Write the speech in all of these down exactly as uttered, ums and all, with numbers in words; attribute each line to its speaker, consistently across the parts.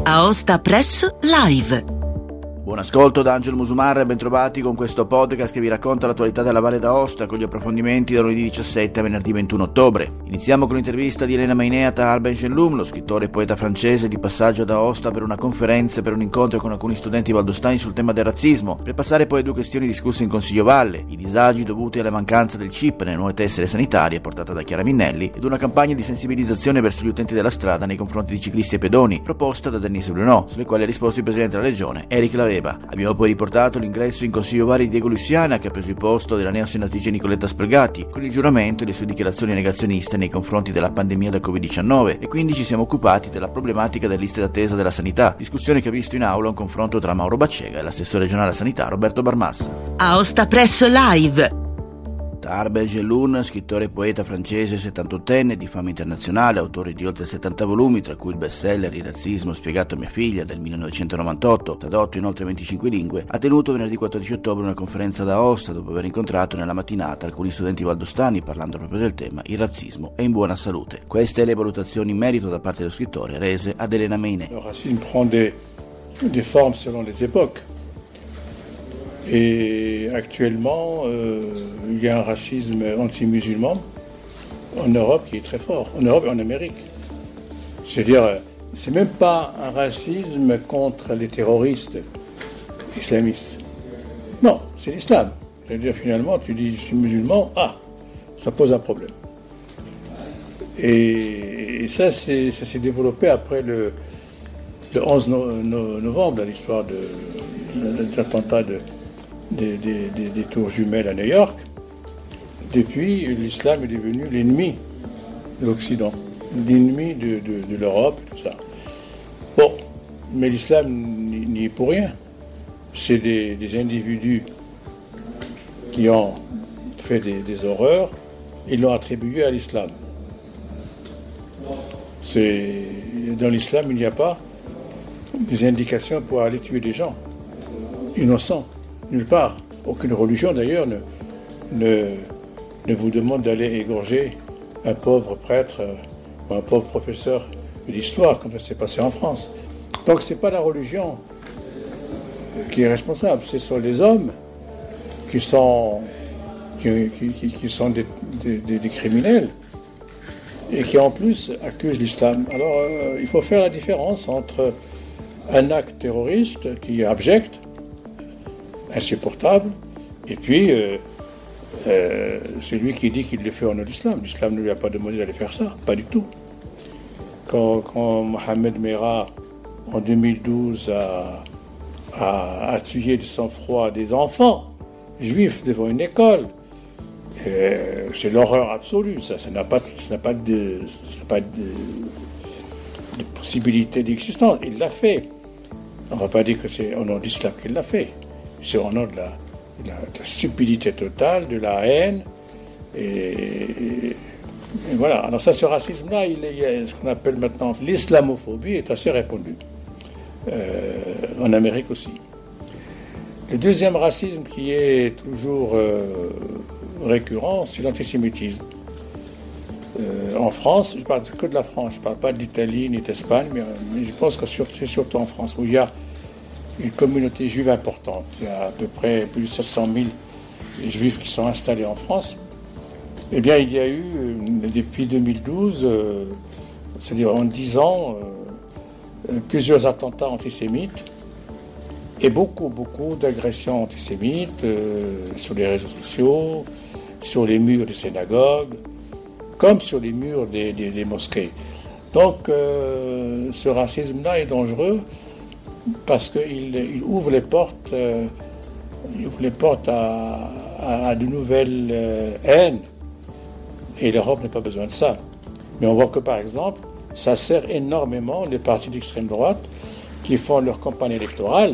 Speaker 1: Aosta Press Live.
Speaker 2: Buon ascolto da Angelo Musumarra e bentrovati con questo podcast che vi racconta l'attualità della Valle d'Aosta con gli approfondimenti da lunedì diciassette a venerdì ventuno ottobre. Iniziamo con l'intervista di Elena Maineat a Arben Genlum, lo scrittore e poeta francese di passaggio ad Aosta per una conferenza e per un incontro con alcuni studenti valdostani sul tema del razzismo, per passare poi a due questioni discusse in Consiglio Valle, i disagi dovuti alla mancanza del chip nelle nuove tessere sanitarie portata da Chiara Minnelli ed una campagna di sensibilizzazione verso gli utenti della strada nei confronti di ciclisti e pedoni, proposta da Denise Bruno, sulle quali ha risposto il Presidente della Regione, Eric Laveva. Abbiamo poi riportato l'ingresso in Consiglio Valle di Diego Lussiana, che ha preso il posto della neosenatrice Nicoletta Spregati, con il giuramento e le sue dichiarazioni negazioniste nei confronti della pandemia del covid diciannove, e quindi ci siamo occupati della problematica delle liste d'attesa della sanità, discussione che ha visto in aula un confronto tra Mauro Baccega e l'assessore regionale alla sanità Roberto Barmassa.
Speaker 1: Aosta Press Live.
Speaker 2: Arben Genlum, scrittore e poeta francese settantottenne di fama internazionale, autore di oltre settanta volumi, tra cui il bestseller Il razzismo spiegato a mia figlia del millenovecentonovantotto, tradotto in oltre venticinque lingue, ha tenuto venerdì quattordici ottobre una conferenza ad Aosta dopo aver incontrato nella mattinata alcuni studenti valdostani parlando proprio del tema Il razzismo è in buona salute. Queste le valutazioni in merito da parte dello scrittore rese ad Elena Maineat.
Speaker 3: Le racisme prend des, des formes selon les époques. Et actuellement, euh, il y a un racisme anti-musulman en Europe qui est très fort, en Europe et en Amérique. C'est-à-dire, c'est même pas un racisme contre les terroristes islamistes. Non, c'est l'islam. C'est-à-dire, finalement, tu dis je suis musulman, ah, ça pose un problème. Et, et ça, c'est, ça s'est développé après le, le onze novembre, l'histoire de, de, de l'attentat de Des, des, des, des tours jumelles à New York. Depuis, l'islam est devenu l'ennemi de l'Occident, l'ennemi de, de, de l'Europe, tout ça. Bon, mais l'islam n'y est pour rien. C'est des, des individus qui ont fait des, des horreurs et l'ont attribué à l'islam. C'est, dans l'islam, il n'y a pas des indications pour aller tuer des gens innocents. Nulle part. Aucune religion, d'ailleurs, ne, ne, ne vous demande d'aller égorger un pauvre prêtre ou un pauvre professeur d'histoire, comme ça s'est passé en France. Donc, ce n'est pas la religion qui est responsable, ce sont les hommes qui sont, qui, qui, qui sont des, des, des criminels et qui, en plus, accusent l'islam. Alors, euh, il faut faire la différence entre un acte terroriste qui est abject, insupportable, et puis euh, euh, celui qui dit qu'il le fait au nom de l'islam. L'islam ne lui a pas demandé d'aller faire ça, pas du tout. Quand, quand Mohamed Merah, en deux mille douze, a, a, a tué de sang-froid des enfants juifs devant une école, euh, c'est l'horreur absolue, ça, ça n'a pas, ça n'a pas, de, ça n'a pas de, de possibilité d'existence. Il l'a fait. On ne va pas dire que c'est au nom de l'islam qu'il l'a fait. C'est au nom de la, de, la, de la stupidité totale, de la haine. Et, et, et voilà. Alors ça, ce racisme-là, il, il y a ce qu'on appelle maintenant l'islamophobie est assez répandu. Euh, en Amérique aussi. Le deuxième racisme qui est toujours euh, récurrent, c'est l'antisémitisme. Euh, en France, je ne parle que de la France, je ne parle pas de l'Italie ni d'Espagne, mais, mais je pense que c'est surtout en France où il y a une communauté juive importante. Il y a à peu près plus de sept cent mille juifs qui sont installés en France. Eh bien, il y a eu, depuis deux mille douze, euh, c'est-à-dire en dix ans, euh, plusieurs attentats antisémites et beaucoup, beaucoup d'agressions antisémites euh, sur les réseaux sociaux, sur les murs des synagogues, comme sur les murs des, des, des mosquées. Donc, euh, ce racisme-là est dangereux, parce qu'il il ouvre les portes, euh, il ouvre les portes à, à, à de nouvelles euh, haines. Et l'Europe n'a pas besoin de ça. Mais on voit que, par exemple, ça sert énormément les partis d'extrême droite qui font leur campagne électorale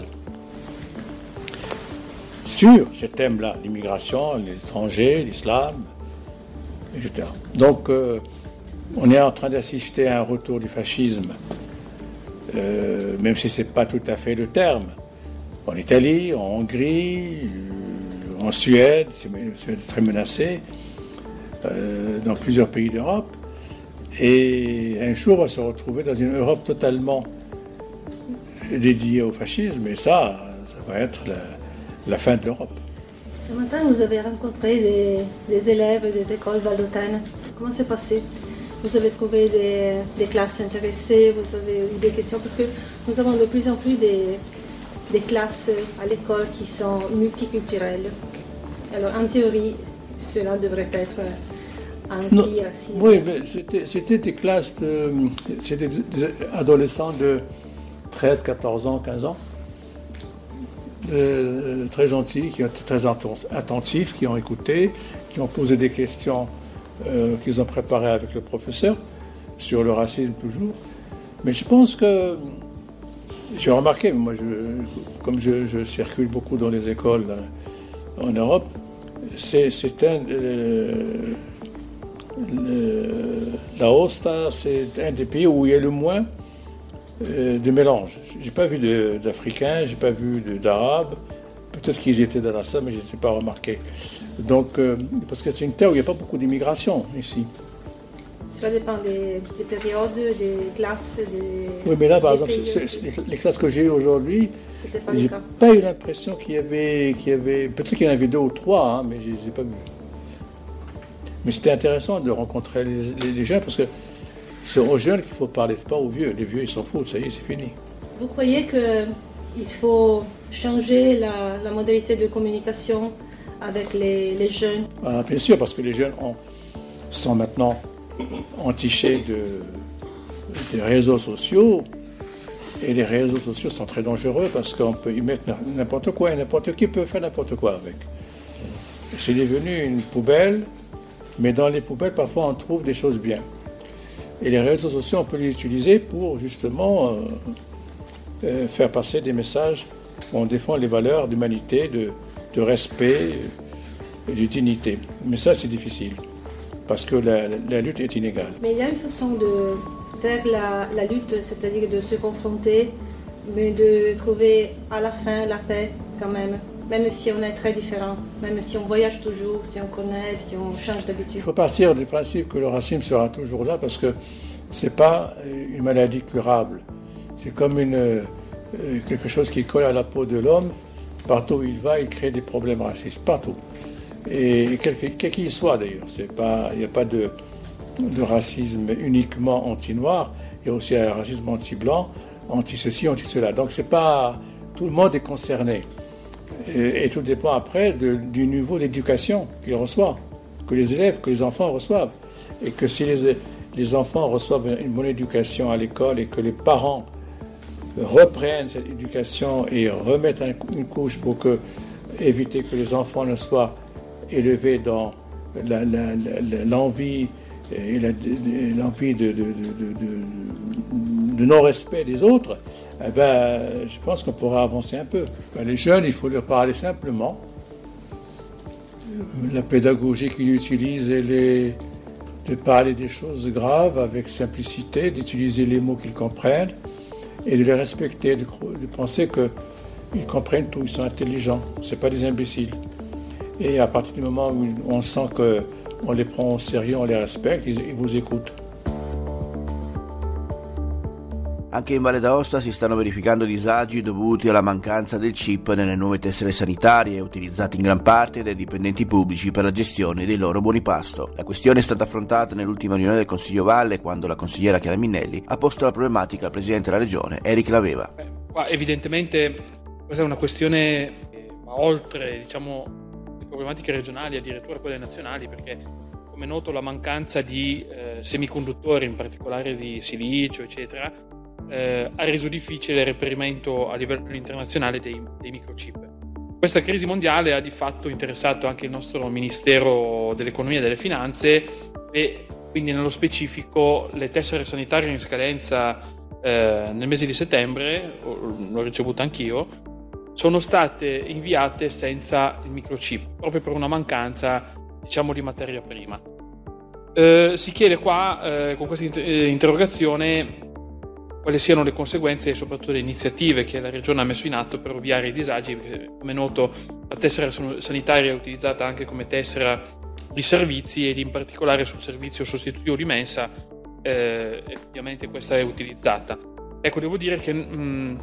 Speaker 3: sur ce thème-là, l'immigration, les étrangers, l'islam, et cetera. Donc, euh, on est en train d'assister à un retour du fascisme. Euh, même si ce n'est pas tout à fait le terme. En Italie, en Hongrie, euh, en Suède, c'est très menacé, euh, dans plusieurs pays d'Europe. Et un jour, on va se retrouver dans une Europe totalement dédié au fascisme, et ça, ça va être la, la fin de l'Europe.
Speaker 4: Ce matin, vous avez rencontré des, des élèves des écoles valdôtaines. Comment c'est passé? Vous avez trouvé des, des classes intéressées, vous avez eu des questions, parce que nous avons de plus en plus des, des classes à l'école qui sont multiculturelles. Alors, en théorie, cela devrait être anti-racisme.
Speaker 3: Oui, mais c'était, c'était des classes de... C'était des adolescents de treize, quatorze ans, quinze ans. De, très gentils, qui ont été très attentifs, qui ont écouté, qui ont posé des questions euh, qu'ils ont préparées avec le professeur, sur le racisme toujours. Mais je pense que, j'ai remarqué, moi, je, comme je, je circule beaucoup dans les écoles euh, en Europe, c'est, c'est un... Euh, le, la Aosta, c'est un des pays où il y a le moins euh, de mélange. J'ai pas vu de, d'Africains, j'ai pas vu de, d'Arabes. Peut-être qu'ils étaient dans la salle, mais je ne les ai pas remarqués. Donc, euh, parce que c'est une terre où il n'y a pas beaucoup d'immigration ici.
Speaker 4: Cela dépend des, des périodes, des classes, des.
Speaker 3: Oui, mais là, par exemple, c'est, c'est, les, les classes que j'ai eues aujourd'hui, je n'ai pas eu l'impression qu'il y avait, qu'il y avait. Peut-être qu'il y en avait deux ou trois, hein, mais je ne les ai pas vus. Mais c'était intéressant de rencontrer les, les, les jeunes, parce que c'est aux jeunes qu'il faut parler, pas aux vieux. Les vieux, ils s'en foutent, ça y est, c'est fini.
Speaker 4: Vous croyez qu'il faut changer la, la modalité de communication avec les, les jeunes?
Speaker 3: Ah, bien sûr, parce que les jeunes ont, sont maintenant entichés de, des réseaux sociaux, et les réseaux sociaux sont très dangereux parce qu'on peut y mettre n'importe quoi, et n'importe qui peut faire n'importe quoi avec. C'est devenu une poubelle, mais dans les poubelles, parfois, on trouve des choses bien. Et les réseaux sociaux, on peut les utiliser pour, justement, euh, euh, faire passer des messages où on défend les valeurs d'humanité, de, de respect et de dignité. Mais ça, c'est difficile, parce que la, la, la lutte est inégale.
Speaker 4: Mais il y a une façon de faire la, la lutte, c'est-à-dire de se confronter, mais de trouver à la fin la paix, quand même. Même si on est très différents, même si on voyage toujours, si on connaît, si on change d'habitude.
Speaker 3: Il faut partir du principe que le racisme sera toujours là, parce que ce n'est pas une maladie curable. C'est comme une, euh, quelque chose qui colle à la peau de l'homme. Partout où il va, il crée des problèmes racistes, partout. Et quel, quel qu'il soit d'ailleurs. C'est pas, il n'y a pas de, de racisme uniquement anti-noir, il y a aussi un racisme anti-blanc, anti-ceci, anti-cela. Donc c'est pas, tout le monde est concerné. Et, et tout dépend après de, du niveau d'éducation qu'ils reçoivent, que les élèves, que les enfants reçoivent. Et que si les, les enfants reçoivent une bonne éducation à l'école et que les parents reprennent cette éducation et remettent un, une couche pour que, éviter que les enfants ne soient élevés dans la, la, la, l'envie et la, l'envie de, de, de, de, de non-respect des autres, eh ben, je pense qu'on pourra avancer un peu. Ben, les jeunes, il faut leur parler simplement. La pédagogie qu'ils utilisent, elle est de parler des choses graves avec simplicité, d'utiliser les mots qu'ils comprennent et de les respecter, de, de penser qu'ils comprennent tout, ils sont intelligents, ce ne sont pas des imbéciles. Et à partir du moment où on sent qu'on les prend au sérieux, on les respecte, ils, ils vous écoutent.
Speaker 2: Anche in Valle d'Aosta si stanno verificando disagi dovuti alla mancanza del chip nelle nuove tessere sanitarie, utilizzate in gran parte dai dipendenti pubblici per la gestione dei loro buoni pasto. La questione è stata affrontata nell'ultima riunione del Consiglio Valle, quando la consigliera Chiara Minnelli ha posto la problematica al presidente della regione, Eric Laveva.
Speaker 5: Beh, qua evidentemente questa è una questione che va oltre, diciamo, le problematiche regionali, addirittura quelle nazionali, perché come è noto la mancanza di eh, semiconduttori, in particolare di silicio, eccetera, Eh, ha reso difficile il reperimento a livello internazionale dei, dei microchip. Questa crisi mondiale ha di fatto interessato anche il nostro Ministero dell'Economia e delle Finanze e quindi nello specifico le tessere sanitarie in scadenza eh, nel mese di settembre, l'ho ricevuta anch'io, sono state inviate senza il microchip, proprio per una mancanza, diciamo, di materia prima. Eh, si chiede qua, eh, con questa inter- interrogazione, quali siano le conseguenze e soprattutto le iniziative che la Regione ha messo in atto per ovviare i disagi, perché, come è noto, la tessera sanitaria è utilizzata anche come tessera di servizi ed in particolare sul servizio sostitutivo di mensa, eh, ovviamente questa è utilizzata. Ecco, devo dire che mh,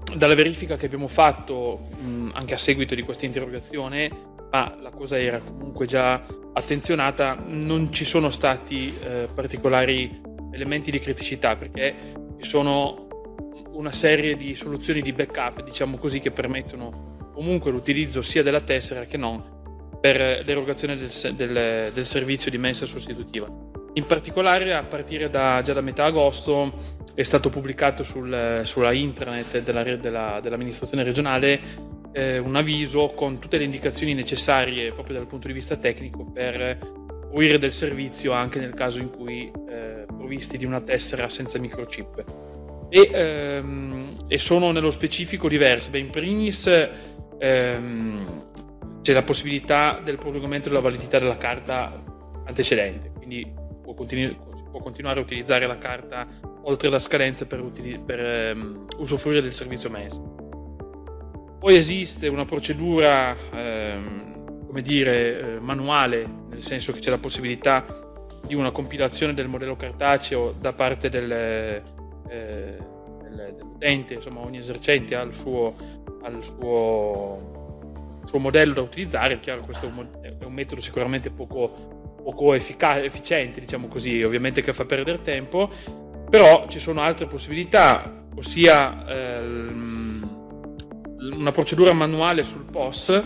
Speaker 5: dalla verifica che abbiamo fatto mh, anche a seguito di questa interrogazione, ma la cosa era comunque già attenzionata, non ci sono stati eh, particolari elementi di criticità, perché ci sono una serie di soluzioni di backup, diciamo così, che permettono comunque l'utilizzo sia della tessera che non per l'erogazione del, del, del servizio di mensa sostitutiva. In particolare, a partire da, già da metà agosto è stato pubblicato sul, sulla intranet della, della, dell'amministrazione regionale eh, un avviso con tutte le indicazioni necessarie proprio dal punto di vista tecnico per fruire del servizio anche nel caso in cui eh, provvisti di una tessera senza microchip. E, ehm, e sono nello specifico diverse. Beh, in primis ehm, c'è la possibilità del prolungamento della validità della carta antecedente, quindi può, continu- può continuare a utilizzare la carta oltre la scadenza per, utili- per ehm, usufruire del servizio mensa. Poi esiste una procedura ehm, come dire eh, manuale, nel senso che c'è la possibilità di una compilazione del modello cartaceo da parte del, eh, del, dell'utente, insomma ogni esercente ha il suo, ha il suo, suo modello da utilizzare. È chiaro, questo è un metodo sicuramente poco, poco efficace, efficiente, diciamo così, ovviamente, che fa perdere tempo, però ci sono altre possibilità, ossia ehm, una procedura manuale sul P O S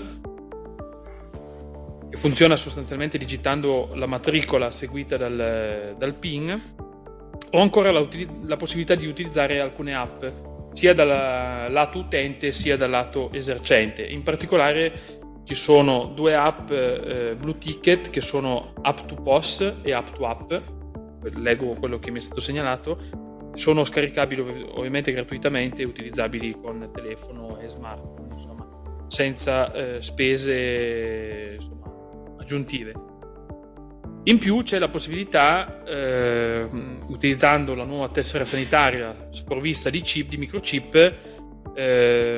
Speaker 5: che funziona sostanzialmente digitando la matricola seguita dal, dal PIN, o ancora la, la possibilità di utilizzare alcune app sia dal lato utente sia dal lato esercente. In particolare ci sono due app eh, Blue Ticket, che sono App to P O S e App to App. Leggo quello che mi è stato segnalato. Sono scaricabili ov- ovviamente gratuitamente e utilizzabili con telefono e smartphone, insomma, senza eh, spese insomma, aggiuntive. In più c'è la possibilità, eh, utilizzando la nuova tessera sanitaria sprovvista di chip, di microchip, eh,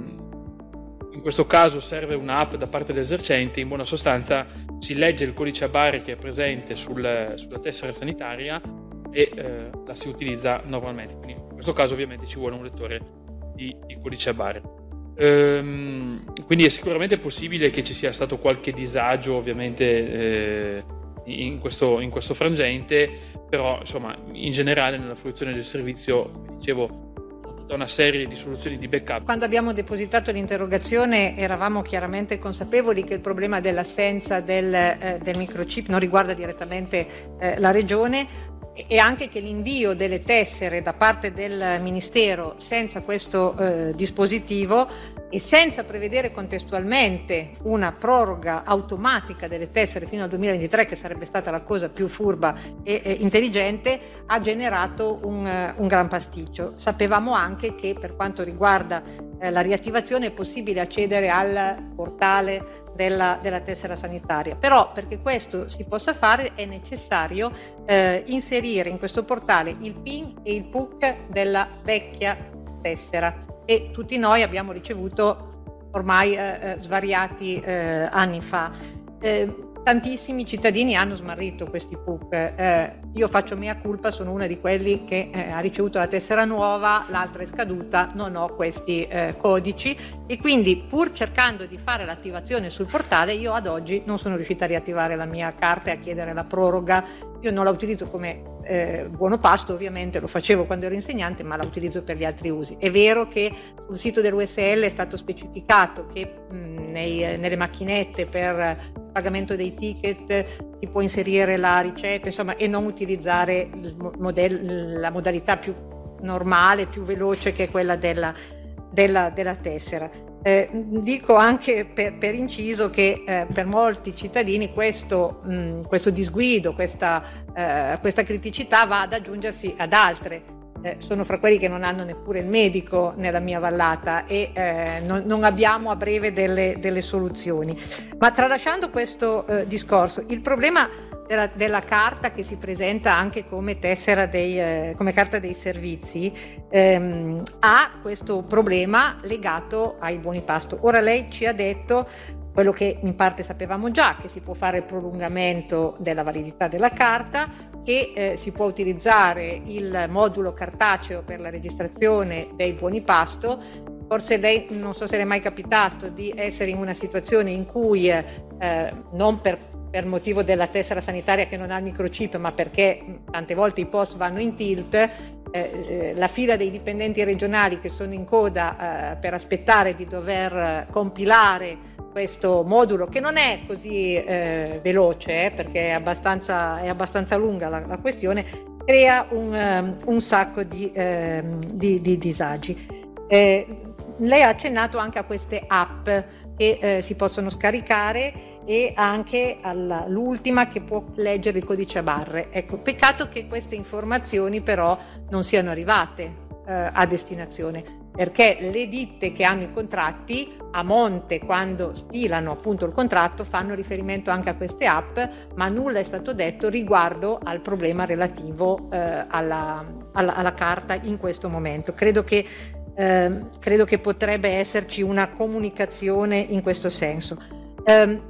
Speaker 5: in questo caso serve un'app da parte dell'esercente. In buona sostanza si legge il codice a barre che è presente sul, sulla tessera sanitaria e eh, la si utilizza normalmente. Quindi in questo caso ovviamente ci vuole un lettore di, di codice a barre. Ehm, quindi è sicuramente possibile che ci sia stato qualche disagio, ovviamente, eh, in, questo, in questo frangente, però insomma in generale nella fruizione del servizio, dicevo, una serie di soluzioni di backup.
Speaker 6: Quando abbiamo depositato l'interrogazione eravamo chiaramente consapevoli che il problema dell'assenza del, eh, del microchip non riguarda direttamente eh, la regione, e anche che l'invio delle tessere da parte del Ministero senza questo eh, dispositivo e senza prevedere contestualmente una proroga automatica delle tessere fino al duemilaventitré, che sarebbe stata la cosa più furba e, e intelligente, ha generato un, uh, un gran pasticcio. Sapevamo anche che per quanto riguarda eh, la riattivazione è possibile accedere al portale della, della tessera sanitaria, però perché questo si possa fare è necessario eh, inserire in questo portale il PIN e il P U C della vecchia tessera, e tutti noi abbiamo ricevuto ormai eh, svariati eh, anni fa. Eh, tantissimi cittadini hanno smarrito questi P U C. Eh, io faccio mea culpa, sono una di quelli che eh, ha ricevuto la tessera nuova, l'altra è scaduta, non ho questi eh, codici, e quindi pur cercando di fare l'attivazione sul portale, io ad oggi non sono riuscita a riattivare la mia carta e a chiedere la proroga. Io non la utilizzo come eh, buono pasto, ovviamente lo facevo quando ero insegnante, ma la utilizzo per gli altri usi. È vero che sul sito dell'U S L è stato specificato che mh, nei, nelle macchinette per pagamento dei ticket si può inserire la ricetta, insomma, e non utilizzare il modello, la modalità più normale, più veloce, che è quella della, della, della tessera. Eh, dico anche per, per inciso che eh, per molti cittadini questo, mh, questo disguido, questa, eh, questa criticità va ad aggiungersi ad altre. Eh, sono fra quelli che non hanno neppure il medico nella mia vallata e eh, non, non abbiamo a breve delle, delle soluzioni. Ma tralasciando questo eh, discorso, il problema della, della carta, che si presenta anche come tessera dei, eh, come carta dei servizi, ehm, ha questo problema legato ai buoni pasto. Ora lei ci ha detto quello che in parte sapevamo già, che si può fare il prolungamento della validità della carta, che eh, si può utilizzare il modulo cartaceo per la registrazione dei buoni pasto. Forse lei, non so se le è mai capitato di essere in una situazione in cui eh, non per, per motivo della tessera sanitaria che non ha il microchip, ma perché tante volte i post vanno in tilt, eh, eh, la fila dei dipendenti regionali che sono in coda eh, per aspettare di dover compilare questo modulo, che non è così eh, veloce, eh, perché è abbastanza, è abbastanza lunga la, la questione, crea un, um, un sacco di, eh, di, di disagi. Eh, lei ha accennato anche a queste app che eh, si possono scaricare e anche all'ultima che può leggere il codice a barre. Ecco, peccato che queste informazioni però non siano arrivate eh, a destinazione, perché le ditte che hanno i contratti a monte, quando stilano appunto il contratto, fanno riferimento anche a queste app, ma nulla è stato detto riguardo al problema relativo eh, alla, alla, alla carta in questo momento. Credo che, eh, credo che potrebbe esserci una comunicazione in questo senso. Eh,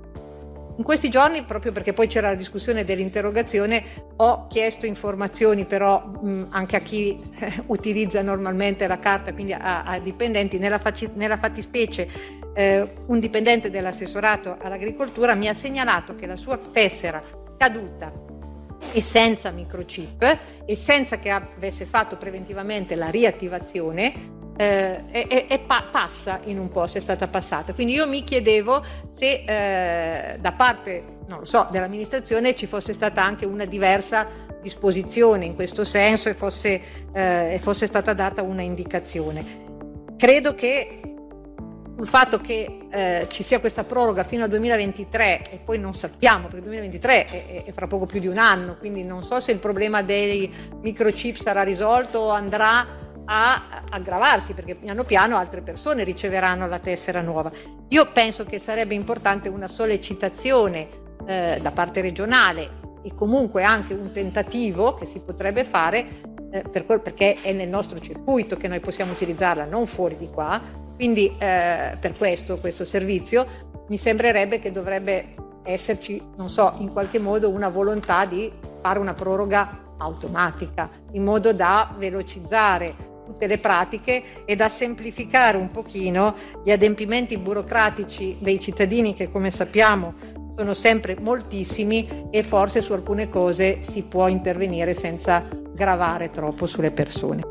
Speaker 6: In questi giorni, proprio perché poi c'era la discussione dell'interrogazione, ho chiesto informazioni però mh, anche a chi eh, utilizza normalmente la carta, quindi a, a dipendenti. Nella, faci, nella fattispecie eh, un dipendente dell'assessorato all'agricoltura mi ha segnalato che la sua tessera scaduta e senza microchip e senza che avesse fatto preventivamente la riattivazione Eh, e, e pa- passa in un posto, è stata passata. Quindi io mi chiedevo se eh, da parte, non lo so, dell'amministrazione ci fosse stata anche una diversa disposizione in questo senso e fosse, eh, fosse stata data una indicazione. Credo che il fatto che eh, ci sia questa proroga fino al duemilaventitré e poi non sappiamo, perché il duemilaventitré è, è fra poco più di un anno, quindi non so se il problema dei microchip sarà risolto o andrà a aggravarsi, perché piano piano altre persone riceveranno la tessera nuova. Io penso che sarebbe importante una sollecitazione eh, da parte regionale e comunque anche un tentativo che si potrebbe fare eh, per quel, perché è nel nostro circuito che noi possiamo utilizzarla, non fuori di qua. Quindi eh, per questo, questo servizio mi sembrerebbe che dovrebbe esserci, non so, in qualche modo una volontà di fare una proroga automatica in modo da velocizzare tutte le pratiche e da semplificare un pochino gli adempimenti burocratici dei cittadini, che come sappiamo sono sempre moltissimi, e forse su alcune cose si può intervenire senza gravare troppo sulle persone.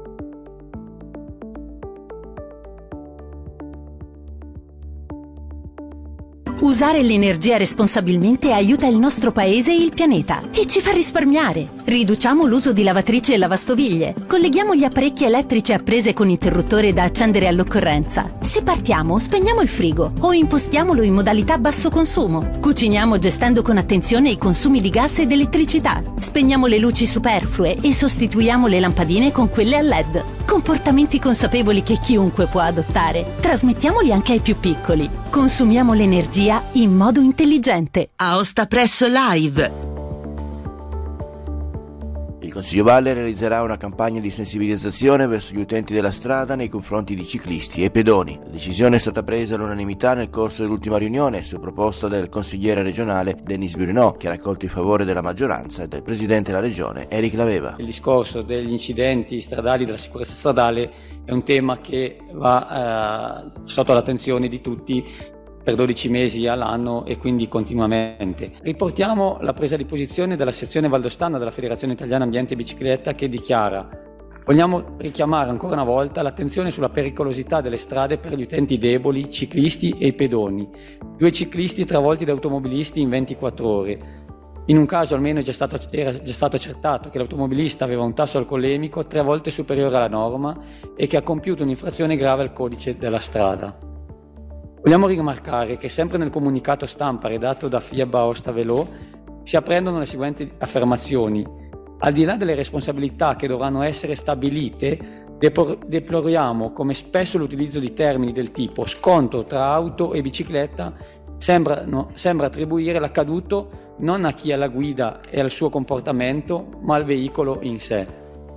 Speaker 7: Usare l'energia responsabilmente aiuta il nostro paese e il pianeta e ci fa risparmiare. Riduciamo l'uso di lavatrici e lavastoviglie. Colleghiamo gli apparecchi elettrici a prese con interruttore da accendere all'occorrenza. Se partiamo, spegniamo il frigo o impostiamolo in modalità basso consumo. Cuciniamo gestendo con attenzione i consumi di gas ed elettricità. Spegniamo le luci superflue e sostituiamo le lampadine con quelle a L E D. Comportamenti consapevoli che chiunque può adottare. Trasmettiamoli anche ai più piccoli. Consumiamo l'energia in modo intelligente.
Speaker 1: Aosta Press Live.
Speaker 2: Il Consiglio Valle realizzerà una campagna di sensibilizzazione verso gli utenti della strada nei confronti di ciclisti e pedoni. La decisione è stata presa all'unanimità nel corso dell'ultima riunione su proposta del consigliere regionale Denis Burinò, che ha raccolto il favore della maggioranza, e del presidente della regione Eric Laveva.
Speaker 8: Il discorso degli incidenti stradali, della sicurezza stradale, è un tema che va eh, sotto l'attenzione di tutti per dodici mesi all'anno e quindi continuamente. Riportiamo la presa di posizione della sezione valdostana della Federazione Italiana Ambiente e Bicicletta, che dichiara: vogliamo richiamare ancora una volta l'attenzione sulla pericolosità delle strade per gli utenti deboli, ciclisti e i pedoni. Due ciclisti travolti da automobilisti in ventiquattro ore. In un caso almeno è già stato, era già stato accertato che l'automobilista aveva un tasso alcolemico tre volte superiore alla norma e che ha compiuto un'infrazione grave al codice della strada. Vogliamo rimarcare che sempre nel comunicato stampa redatto da F I A B Aosta Velò si apprendono le seguenti affermazioni: al di là delle responsabilità che dovranno essere stabilite, deploriamo come spesso l'utilizzo di termini del tipo scontro tra auto e bicicletta sembra, no, sembra attribuire l'accaduto non a chi è alla guida e al suo comportamento, ma al veicolo in sé.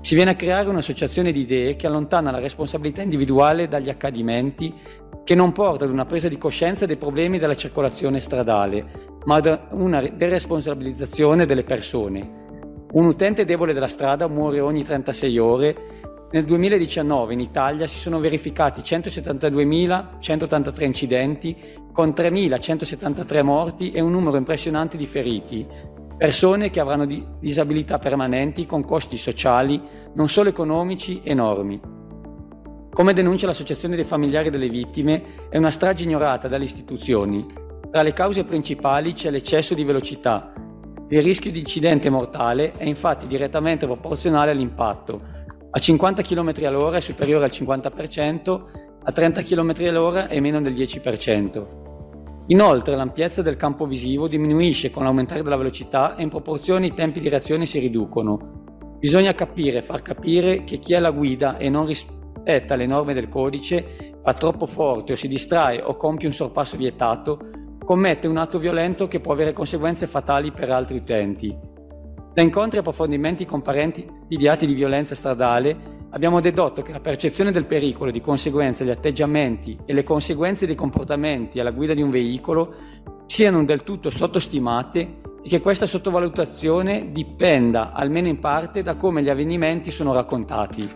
Speaker 8: Si viene a creare un'associazione di idee che allontana la responsabilità individuale dagli accadimenti, che non porta ad una presa di coscienza dei problemi della circolazione stradale, ma ad una deresponsabilizzazione delle persone. Un utente debole della strada muore ogni trentasei ore. Nel duemiladiciannove in Italia si sono verificati centosettantaduemilacentottantatré incidenti, con tremilacentosettantatré morti e un numero impressionante di feriti. Persone che avranno disabilità permanenti con costi sociali, non solo economici, enormi. Come denuncia l'Associazione dei familiari delle vittime, è una strage ignorata dalle istituzioni. Tra le cause principali c'è l'eccesso di velocità. Il rischio di incidente mortale è infatti direttamente proporzionale all'impatto. A cinquanta chilometri all'ora è superiore al cinquanta per cento, a trenta chilometri all'ora è meno del dieci per cento. Inoltre l'ampiezza del campo visivo diminuisce con l'aumentare della velocità e in proporzione i tempi di reazione si riducono. Bisogna capire e far capire che chi è alla guida e non rispetta le norme del codice, va troppo forte o si distrae o compie un sorpasso vietato, commette un atto violento che può avere conseguenze fatali per altri utenti. Da incontri e approfondimenti con parenti di atti di violenza stradale abbiamo dedotto che la percezione del pericolo e di conseguenza gli atteggiamenti e le conseguenze dei comportamenti alla guida di un veicolo siano del tutto sottostimate e che questa sottovalutazione dipenda, almeno in parte, da come gli avvenimenti sono raccontati.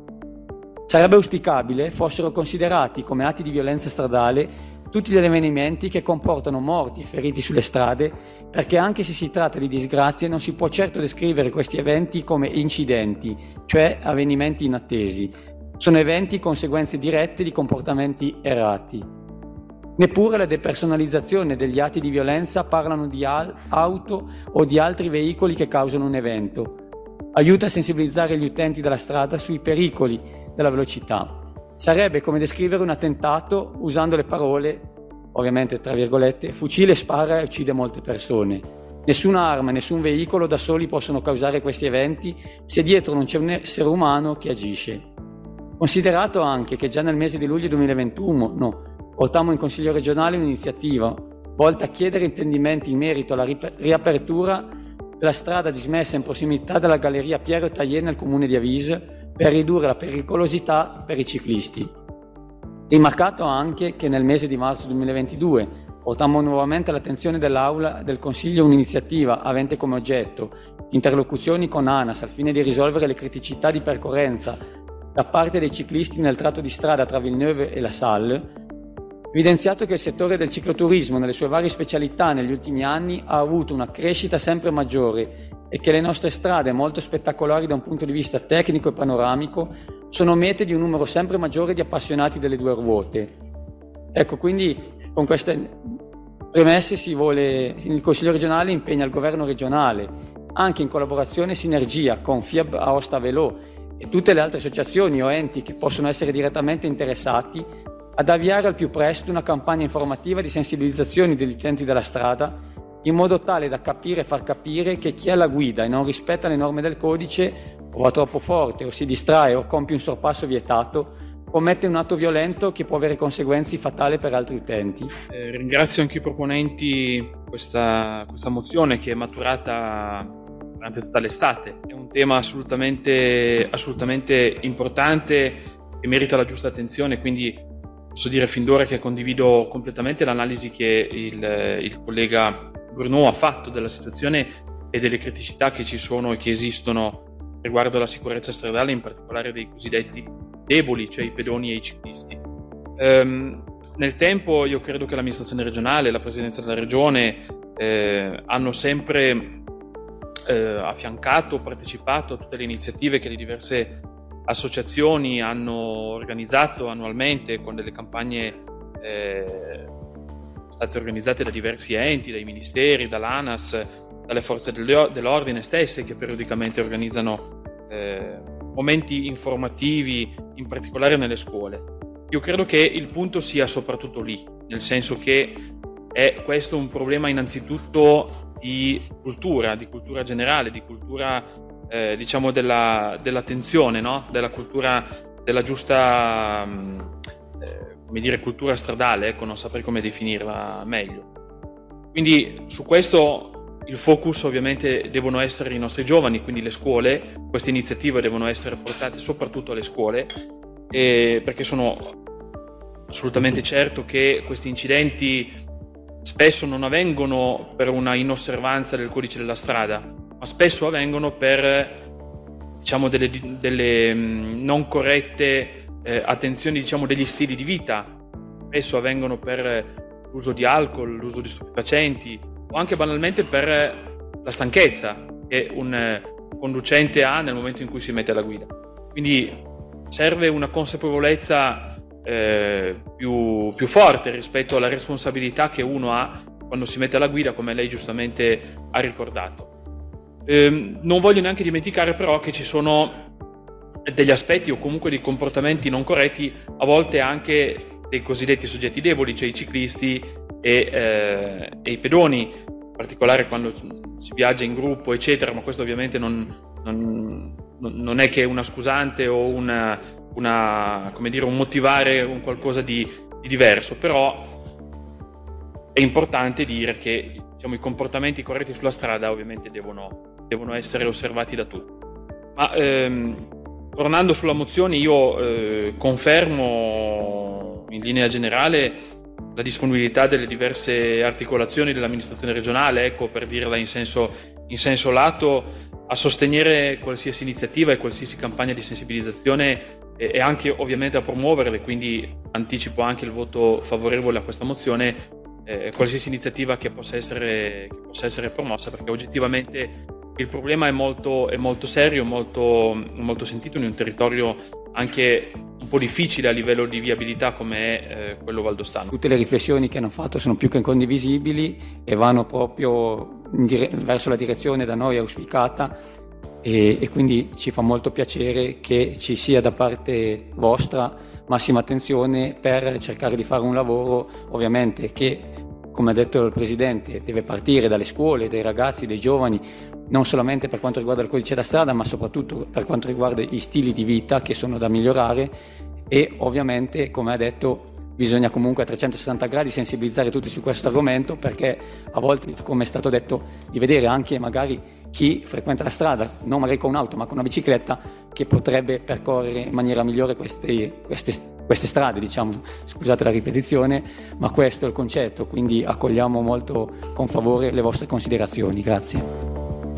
Speaker 8: Sarebbe auspicabile fossero considerati come atti di violenza stradale tutti gli avvenimenti che comportano morti e feriti sulle strade, perché anche se si tratta di disgrazie non si può certo descrivere questi eventi come incidenti, cioè avvenimenti inattesi. Sono eventi conseguenze dirette di comportamenti errati. Neppure la depersonalizzazione degli atti di violenza parlano di auto o di altri veicoli che causano un evento. Aiuta a sensibilizzare gli utenti della strada sui pericoli della velocità. Sarebbe come descrivere un attentato usando le parole, ovviamente tra virgolette, fucile spara e uccide molte persone. Nessuna arma, nessun veicolo da soli possono causare questi eventi se dietro non c'è un essere umano che agisce. Considerato anche che già nel mese di luglio duemilaventuno no, portammo in Consiglio regionale un'iniziativa volta a chiedere intendimenti in merito alla riapertura della strada dismessa in prossimità della Galleria Piero Taillé nel comune di Avis, per ridurre la pericolosità per i ciclisti. Rimarcato anche che nel mese di marzo duemilaventidue portammo nuovamente all'attenzione dell'Aula del Consiglio un'iniziativa avente come oggetto interlocuzioni con ANAS al fine di risolvere le criticità di percorrenza da parte dei ciclisti nel tratto di strada tra Villeneuve e La Salle, evidenziato che il settore del cicloturismo nelle sue varie specialità negli ultimi anni ha avuto una crescita sempre maggiore e che le nostre strade, molto spettacolari da un punto di vista tecnico e panoramico, sono mete di un numero sempre maggiore di appassionati delle due ruote. Ecco, quindi con queste premesse si vuole, il Consiglio regionale impegna il governo regionale, anche in collaborazione e sinergia con FIAB Aosta Velò e tutte le altre associazioni o enti che possono essere direttamente interessati, ad avviare al più presto una campagna informativa di sensibilizzazione degli utenti della strada, in modo tale da capire e far capire che chi è alla guida e non rispetta le norme del codice, o va troppo forte, o si distrae, o compie un sorpasso vietato, commette un atto violento che può avere conseguenze fatali per altri utenti.
Speaker 5: Eh, ringrazio anche i proponenti questa, questa mozione che è maturata durante tutta l'estate. È un tema assolutamente, assolutamente importante che merita la giusta attenzione, quindi posso dire fin d'ora che condivido completamente l'analisi che il, il collega Bruno ha fatto della situazione e delle criticità che ci sono e che esistono riguardo alla sicurezza stradale, in particolare dei cosiddetti deboli, cioè i pedoni e i ciclisti. Um, nel tempo io credo che l'amministrazione regionale e la presidenza della regione eh, hanno sempre eh, affiancato, partecipato a tutte le iniziative che le diverse associazioni hanno organizzato annualmente con delle campagne eh, state organizzate da diversi enti, dai ministeri, dall'ANAS, dalle forze dell'ordine stesse che periodicamente organizzano eh, momenti informativi, in particolare nelle scuole. Io credo che il punto sia soprattutto lì, nel senso che è questo un problema innanzitutto di cultura, di cultura generale, di cultura eh, diciamo della, dell'attenzione, no? Della cultura della giusta eh, come dire cultura stradale, ecco, non saprei come definirla meglio. Quindi su questo il focus ovviamente devono essere i nostri giovani, quindi le scuole. Queste iniziative devono essere portate soprattutto alle scuole, e perché sono assolutamente certo che questi incidenti spesso non avvengono per una inosservanza del codice della strada, ma spesso avvengono per, diciamo, delle, delle non corrette eh, attenzioni, diciamo, degli stili di vita. Spesso avvengono per l'uso di alcol, l'uso di stupefacenti, o anche banalmente per la stanchezza che un conducente ha nel momento in cui si mette alla guida. Quindi serve una consapevolezza eh, più, più forte rispetto alla responsabilità che uno ha quando si mette alla guida, come lei giustamente ha ricordato. Eh, non voglio neanche dimenticare però che ci sono degli aspetti o comunque dei comportamenti non corretti, a volte anche dei cosiddetti soggetti deboli, cioè i ciclisti e, eh, e i pedoni, in particolare quando si viaggia in gruppo, eccetera, ma questo ovviamente non, non, non è che una scusante o una, una, come dire, un motivare un qualcosa di, di diverso, però è importante dire che, diciamo, i comportamenti corretti sulla strada ovviamente devono, devono essere osservati da tutti. Ma ehm, tornando sulla mozione, io eh, confermo in linea generale la disponibilità delle diverse articolazioni dell'amministrazione regionale, ecco, per dirla in senso, in senso lato, a sostenere qualsiasi iniziativa e qualsiasi campagna di sensibilizzazione e, e anche ovviamente a promuoverle, quindi anticipo anche il voto favorevole a questa mozione, eh, qualsiasi iniziativa che possa essere, che possa essere promossa, perché oggettivamente il problema è molto, è molto serio, molto, molto sentito in un territorio anche un po' difficile a livello di viabilità come è eh, quello valdostano.
Speaker 8: Tutte le riflessioni che hanno fatto sono più che condivisibili e vanno proprio in dire- verso la direzione da noi auspicata, e, e quindi ci fa molto piacere che ci sia da parte vostra massima attenzione per cercare di fare un lavoro, ovviamente, che, come ha detto il Presidente, deve partire dalle scuole, dai ragazzi, dai giovani, non solamente per quanto riguarda il codice da strada, ma soprattutto per quanto riguarda i stili di vita che sono da migliorare. E ovviamente, come ha detto, bisogna comunque a trecentosessanta gradi sensibilizzare tutti su questo argomento, perché a volte, come è stato detto, di vedere anche magari chi frequenta la strada, non magari con un'auto ma con una bicicletta, che potrebbe percorrere in maniera migliore queste, queste, queste strade, diciamo, scusate la ripetizione, ma questo è il concetto, quindi accogliamo molto con favore le vostre considerazioni. Grazie.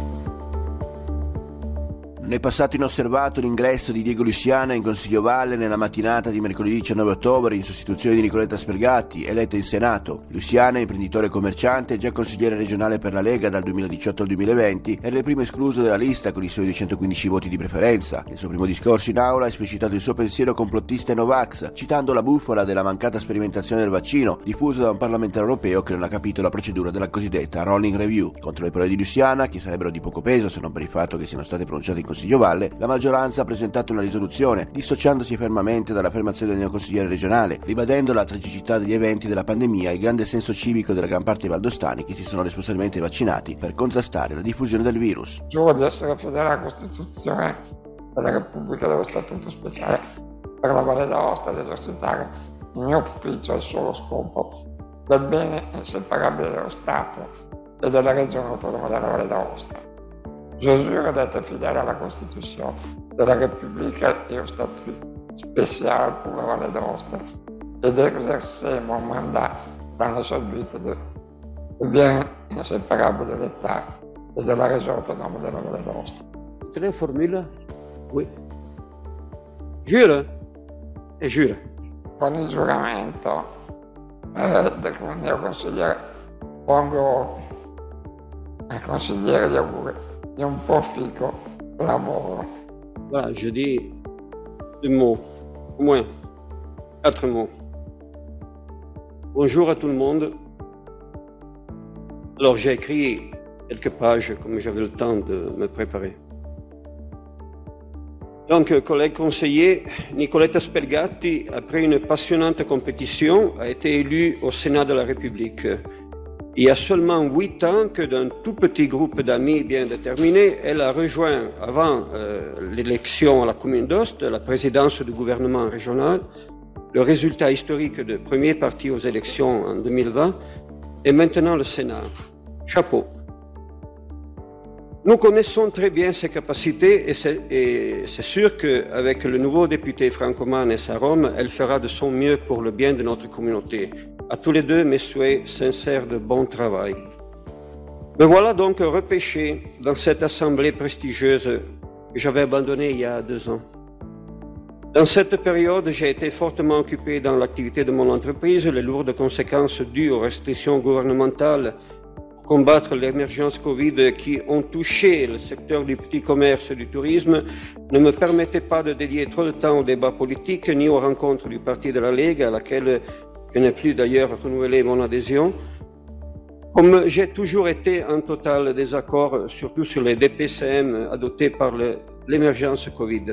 Speaker 2: Non è passato inosservato l'ingresso di Diego Luciana in Consiglio Valle nella mattinata di mercoledì diciannove ottobre in sostituzione di Nicoletta Spergatti, eletta in Senato. Luciana, imprenditore e commerciante, già consigliere regionale per la Lega dal duemiladiciotto al duemilaventi, era il primo escluso dalla lista con i suoi duecentoquindici voti di preferenza. Nel suo primo discorso in aula ha esplicitato il suo pensiero complottista e Novax, citando la bufala della mancata sperimentazione del vaccino, diffusa da un parlamentare europeo che non ha capito la procedura della cosiddetta rolling review. Contro le parole di Luciana, che sarebbero di poco peso se non per il fatto che siano state pronunciate in Consiglio Valle, la maggioranza ha presentato una risoluzione, dissociandosi fermamente dall'affermazione del neoconsigliere regionale, ribadendo la tragicità degli eventi della pandemia e il grande senso civico della gran parte dei valdostani che si sono responsabilmente vaccinati per contrastare la diffusione del virus.
Speaker 9: Giuro di essere fedele alla Costituzione della Repubblica dello Statuto Speciale per la Valle d'Aosta e dell'Orsitaria. Il mio ufficio ha il solo scopo del bene inseparabile dello Stato e della Regione Autonoma della Valle d'Aosta. Je jure d'être fidèle à la Constitution de la République et au statut spécial pour la Valle d'Aosta et d'exercer mon mandat dans le seul but de, de bien inséparable de l'État et de la région autonome de la Valle d'Aosta.
Speaker 10: Tre formule? Oui. Jure e jure.
Speaker 9: Con il giuramento eh, del mio consigliere pongo al consigliere gli auguri di un proficuo lavoro.
Speaker 10: Voilà, je dis deux mots, au moins quatre mots. Bonjour à tout le monde. Alors j'ai écrit quelques pages comme j'avais le temps de me préparer. Donc, collègue conseiller, Nicoletta Spergatti, après une passionnante compétition, a été élue au Sénat de la République. Il y a seulement huit ans que d'un tout petit groupe d'amis bien déterminés, elle a rejoint, avant euh, l'élection à la commune d'Ost, la présidence du gouvernement régional, le résultat historique de premier parti aux élections en deux mille vingt, et maintenant le Sénat. Chapeau. Nous connaissons très bien ses capacités et c'est, et c'est sûr qu'avec le nouveau député Franco Manes à Rome, elle fera de son mieux pour le bien de notre communauté. À tous les deux, mes souhaits sincères de bon travail. Me voilà donc repêché dans cette assemblée prestigieuse que j'avais abandonnée il y a deux ans. Dans cette période, j'ai été fortement occupé dans l'activité de mon entreprise. Les lourdes conséquences dues aux restrictions gouvernementales pour combattre l'émergence Covid qui ont touché le secteur du petit commerce et du tourisme ne me permettaient pas de dédier trop de temps aux débats politiques ni aux rencontres du Parti de la Lega, à laquelle je n'ai plus d'ailleurs renouvelé mon adhésion. Comme j'ai toujours été en total désaccord, surtout sur les D P C M adoptés par le, l'émergence Covid.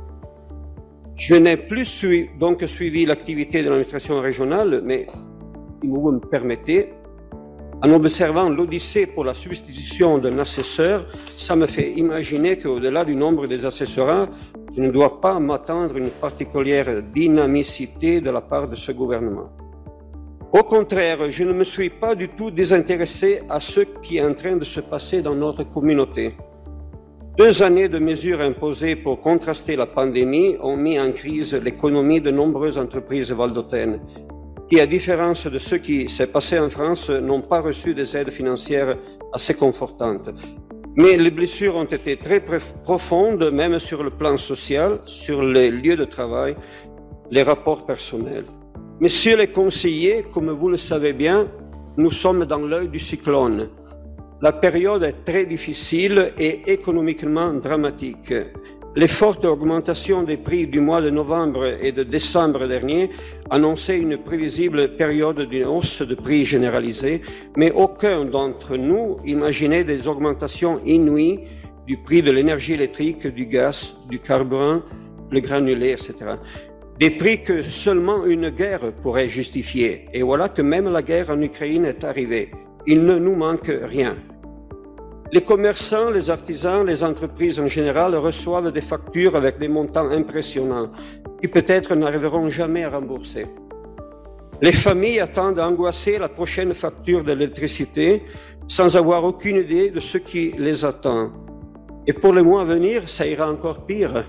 Speaker 10: Je n'ai plus sui, donc suivi l'activité de l'administration régionale, mais si vous me permettez, en observant l'odyssée pour la substitution d'un assesseur, ça me fait imaginer qu'au-delà du nombre des assessorats, je ne dois pas m'attendre à une particulière dynamicité de la part de ce gouvernement. Au contraire, je ne me suis pas du tout désintéressé à ce qui est en train de se passer dans notre communauté. Deux années de mesures imposées pour contraster la pandémie ont mis en crise l'économie de nombreuses entreprises valdôtaines, qui, à différence de ce qui s'est passé en France, n'ont pas reçu des aides financières assez confortantes. Mais les blessures ont été très profondes, même sur le plan social, sur les lieux de travail, les rapports personnels. Messieurs les conseillers, comme vous le savez bien, nous sommes dans l'œil du cyclone. La période est très difficile et économiquement dramatique. Les fortes augmentations des prix du mois de novembre et de décembre dernier annonçaient une prévisible période d'une hausse de prix généralisée, mais aucun d'entre nous imaginait des augmentations inouïes du prix de l'énergie électrique, du gaz, du carburant, le granulé, et cetera. Des prix que seulement une guerre pourrait justifier. Et voilà que même la guerre en Ukraine est arrivée. Il ne nous manque rien. Les commerçants, les artisans, les entreprises en général reçoivent des factures avec des montants impressionnants qui peut-être n'arriveront jamais à rembourser. Les familles attendent angoissées la prochaine facture de l'électricité sans avoir aucune idée de ce qui les attend. Et pour les mois à venir, ça ira encore pire.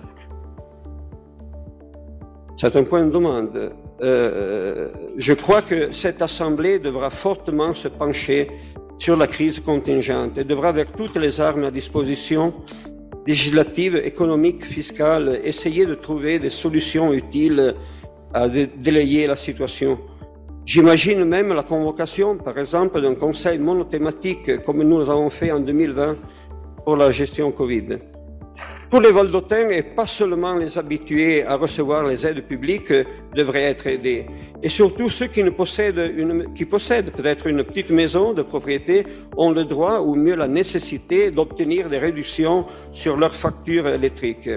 Speaker 10: C'est un point de demande. Euh, je crois que cette Assemblée devra fortement se pencher sur la crise contingente et devra, avec toutes les armes à disposition, législatives, économiques, fiscales, essayer de trouver des solutions utiles à dé- délayer la situation. J'imagine même la convocation, par exemple, d'un conseil monothématique comme nous avons fait en deux mille vingt pour la gestion Covid. Tous les Valdôtains, et pas seulement les habitués à recevoir les aides publiques, devraient être aidés. Et surtout ceux qui, ne possèdent une, qui possèdent peut-être une petite maison de propriété ont le droit, ou mieux la nécessité, d'obtenir des réductions sur leurs factures électriques.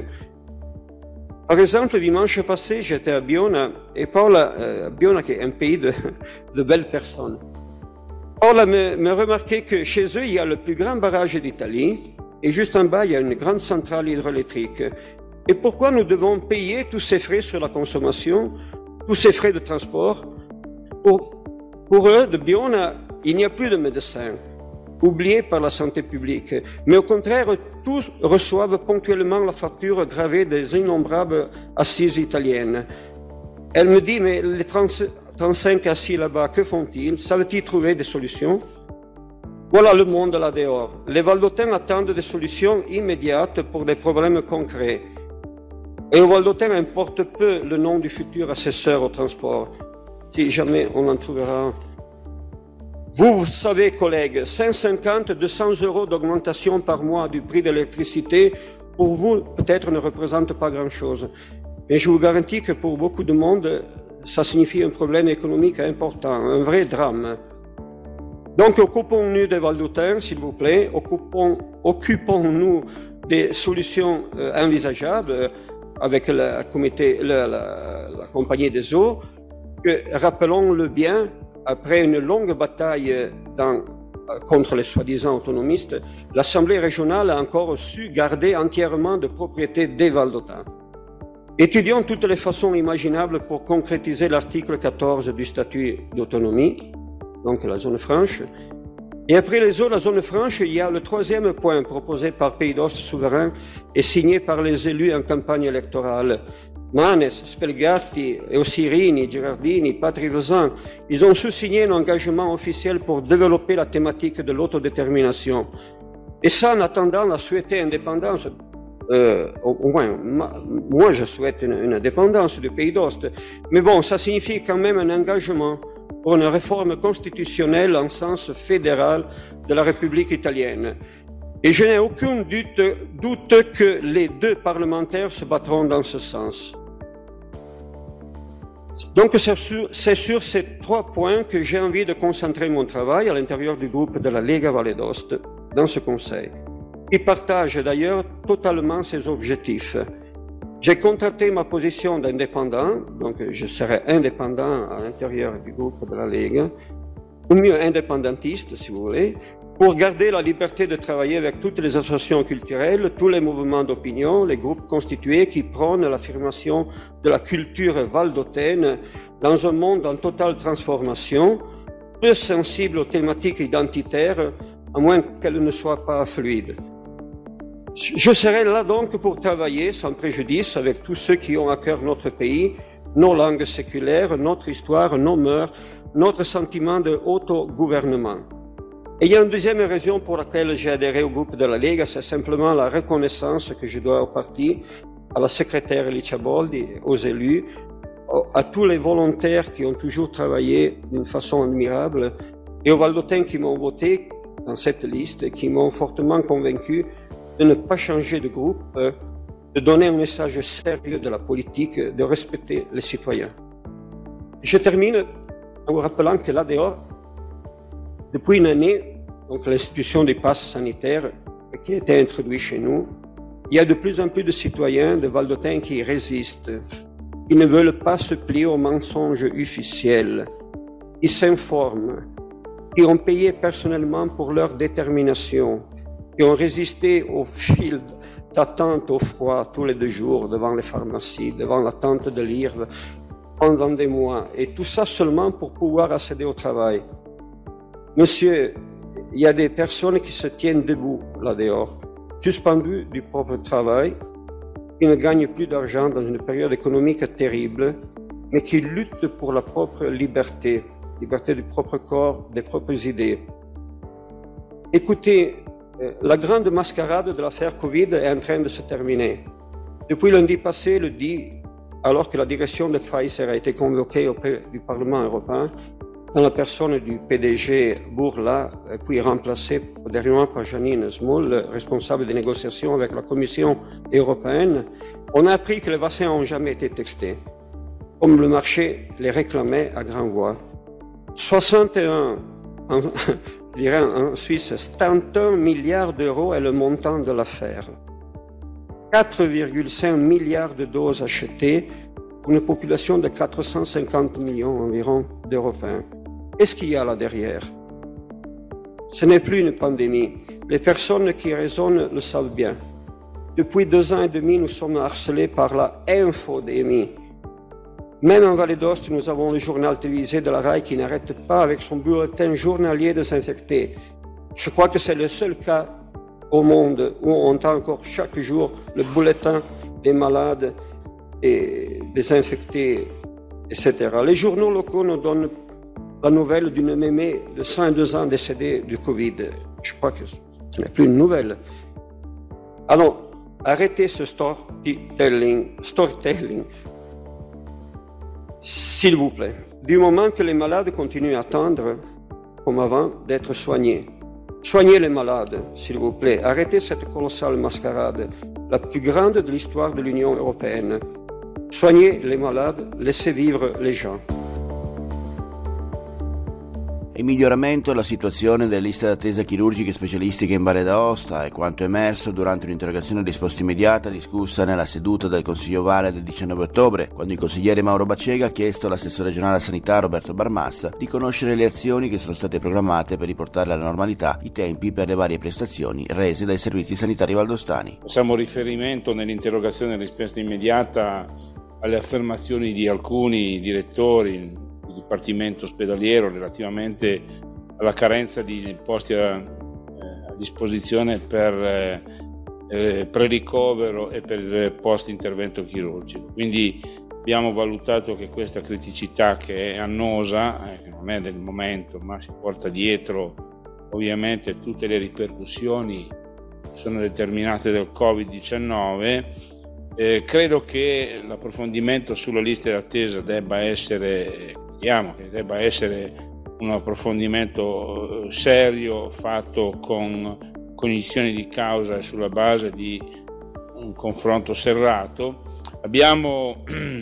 Speaker 10: Par exemple, dimanche passé, j'étais à Biona, et Paola, euh, Biona qui est un pays de, de belles personnes, Paola me, me remarquait que chez eux, il y a le plus grand barrage d'Italie, et juste en bas, il y a une grande centrale hydroélectrique. Et pourquoi nous devons payer tous ces frais sur la consommation, tous ces frais de transport? Pour, pour eux, de Biona, il n'y a plus de médecins, oubliés par la santé publique. Mais au contraire, tous reçoivent ponctuellement la facture gravée des innombrables assises italiennes. Elle me dit, mais les trente-cinq assis là-bas, que font-ils? Savent-ils trouver des solutions? Voilà le monde là dehors. Les Valdôtains attendent des solutions immédiates pour des problèmes concrets. Et aux Valdôtains importe peu le nom du futur assesseur au transport, si jamais on en trouvera. Vous, vous savez, collègues, cent cinquante à deux cents euros d'augmentation par mois du prix de l'électricité, pour vous, peut-être ne représente pas grand-chose. Mais je vous garantis que pour beaucoup de monde, ça signifie un problème économique important, un vrai drame. Donc, occupons-nous des Valdôtains, s'il vous plaît, occupons, occupons-nous des solutions euh, envisageables euh, avec la, comité, la, la, la compagnie des eaux, que, rappelons-le bien, après une longue bataille dans, contre les soi-disant autonomistes, l'Assemblée régionale a encore su garder entièrement de propriété des Valdôtains. Étudions toutes les façons imaginables pour concrétiser l'article quatorze du statut d'autonomie, donc la zone franche, Et après les autres, la zone franche, il y a le troisième point proposé par Pays d'Ost souverain et signé par les élus en campagne électorale. Manes, Spelgatti, Eosirini, Girardini, Patri Vezin, ils ont sous-signé un engagement officiel pour développer la thématique de l'autodétermination. Et ça, en attendant la souhaitée indépendance, euh, au, au moins, ma, moi je souhaite une, une indépendance du Pays d'Ost, mais bon, ça signifie quand même un engagement pour une réforme constitutionnelle en sens fédéral de la République italienne. Et je n'ai aucun doute, doute que les deux parlementaires se battront dans ce sens. Donc c'est sur, c'est sur ces trois points que j'ai envie de concentrer mon travail à l'intérieur du groupe de la Lega Valle d'Aosta dans ce conseil. Il partage d'ailleurs totalement ses objectifs. J'ai contracté ma position d'indépendant, donc je serai indépendant à l'intérieur du groupe de la Lega, ou mieux indépendantiste si vous voulez, pour garder la liberté de travailler avec toutes les associations culturelles, tous les mouvements d'opinion, les groupes constitués qui prônent l'affirmation de la culture valdotaine dans un monde en totale transformation, peu sensible aux thématiques identitaires, à moins qu'elles ne soient pas fluides. Je serai là donc pour travailler sans préjudice avec tous ceux qui ont à cœur notre pays, nos langues séculaires, notre histoire, nos mœurs, notre sentiment de autogouvernement. Et il y a une deuxième raison pour laquelle j'ai adhéré au groupe de la Lega, c'est simplement la reconnaissance que je dois au parti, à la secrétaire Licia Boldi, aux élus, à tous les volontaires qui ont toujours travaillé d'une façon admirable et aux Valdôtains qui m'ont voté dans cette liste et qui m'ont fortement convaincu de ne pas changer de groupe, de donner un message sérieux de la politique, de respecter les citoyens. Je termine en vous rappelant que là dehors, depuis une année, donc l'institution des passes sanitaires qui a été introduite chez nous, il y a de plus en plus de citoyens de Valdôtains qui résistent, qui ne veulent pas se plier aux mensonges officiels, qui s'informent, qui ont payé personnellement pour leur détermination, qui ont résisté au fil d'attente au froid tous les deux jours devant les pharmacies, devant l'attente de lire pendant des mois, et tout ça seulement pour pouvoir accéder au travail. Monsieur, il y a des personnes qui se tiennent debout là dehors, suspendues du propre travail, qui ne gagnent plus d'argent dans une période économique terrible, mais qui luttent pour la propre liberté, liberté du propre corps, des propres idées. Écoutez, la grande mascarade de l'affaire Covid est en train de se terminer. Depuis lundi passé, le dix, alors que la direction de Pfizer a été convoquée auprès du Parlement européen, dans la personne du P D G Bourla, puis remplacé dernièrement par Janine Small, responsable des négociations avec la Commission européenne, on a appris que les vaccins n'ont jamais été testés, comme le marché les réclamait à grande voix. soixante et un, en, je dirais en Suisse, soixante et un milliards d'euros est le montant de l'affaire. quatre virgule cinq milliards de doses achetées pour une population de quatre cent cinquante millions environ d'Européens. Qu'est-ce qu'il y a là derrière? Ce n'est plus une pandémie. Les personnes qui raisonnent le savent bien. Depuis deux ans et demi, nous sommes harcelés par la infodémie. Même en Valle d'Aosta, nous avons le journal télévisé de la R A I qui n'arrête pas avec son bulletin journalier désinfecté. Je crois que c'est le seul cas au monde où on entend encore chaque jour le bulletin des malades et des infectés, et cetera. Les journaux locaux nous donnent la nouvelle d'une mémé de cent et deux ans décédée du Covid. Je crois que ce n'est plus une nouvelle. Alors, arrêtez ce storytelling, storytelling, s'il vous plaît. Du moment que les malades continuent à attendre, comme avant, d'être soignés. Soignez les malades, s'il vous plaît. Arrêtez cette colossale mascarade, la plus grande de l'histoire de l'Union européenne. Soignez les malades, laissez vivre les gens.
Speaker 2: In miglioramento la situazione delle liste d'attesa chirurgiche specialistiche in Valle d'Aosta è quanto emerso durante un'interrogazione a risposta immediata discussa nella seduta del Consiglio Valle del diciannove ottobre, quando il consigliere Mauro Baccega ha chiesto all'assessore regionale alla sanità Roberto Barmassa di conoscere le azioni che sono state programmate per riportare alla normalità i tempi per le varie prestazioni rese dai servizi sanitari valdostani.
Speaker 3: Facciamo riferimento nell'interrogazione a risposta immediata alle affermazioni di alcuni direttori Dipartimento ospedaliero relativamente
Speaker 11: alla carenza di posti a, a disposizione per eh, eh, pre-ricovero e per post intervento chirurgico. Quindi abbiamo valutato che questa criticità, che è annosa, eh, che non è del momento, ma si porta dietro ovviamente tutte le ripercussioni che sono determinate dal covid diciannove, eh, credo che l'approfondimento sulla lista d'attesa debba essere, vediamo che debba essere un approfondimento serio, fatto con cognizione di causa e sulla base di un confronto serrato. Abbiamo